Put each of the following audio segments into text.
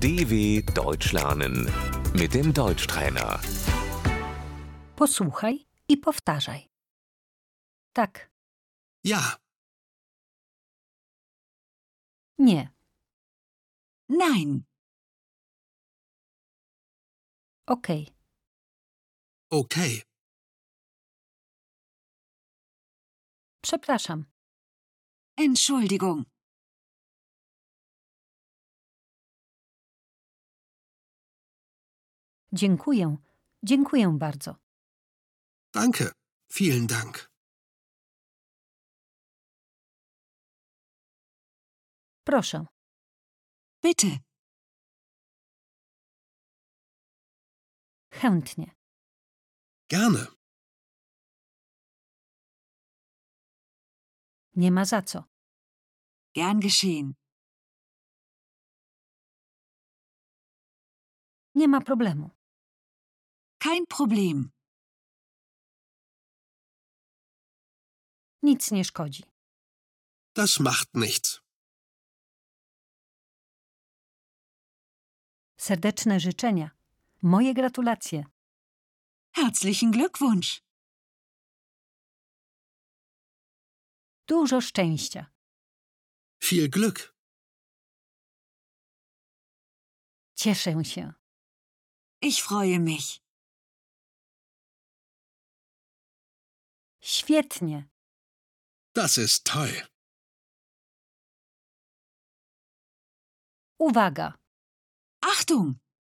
DW Deutsch lernen mit dem Deutschtrainer. Posłuchaj i powtarzaj. Tak, Ja, nie, Nein, okej, okay, przepraszam, Entschuldigung, dziękuję, dziękuję bardzo, danke, vielen Dank. proszę, bitte, chętnie, Gerne, nie ma za co, gern geschehen, nie ma problemu, kein Problem, nic nie szkodzi, das macht nichts. serdeczne życzenia, moje gratulacje, herzlichen Glückwunsch, dużo szczęścia, Viel Glück, cieszę się, ich freue mich, świetnie, das ist toll. uwaga, Achtung,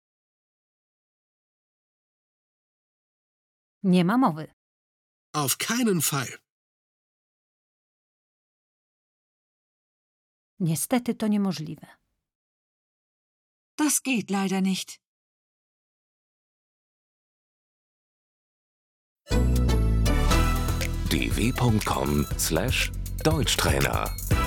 nie ma mowy, Auf keinen Fall. niestety to niemożliwe. das geht leider nicht. dw.com/Deutschtrainer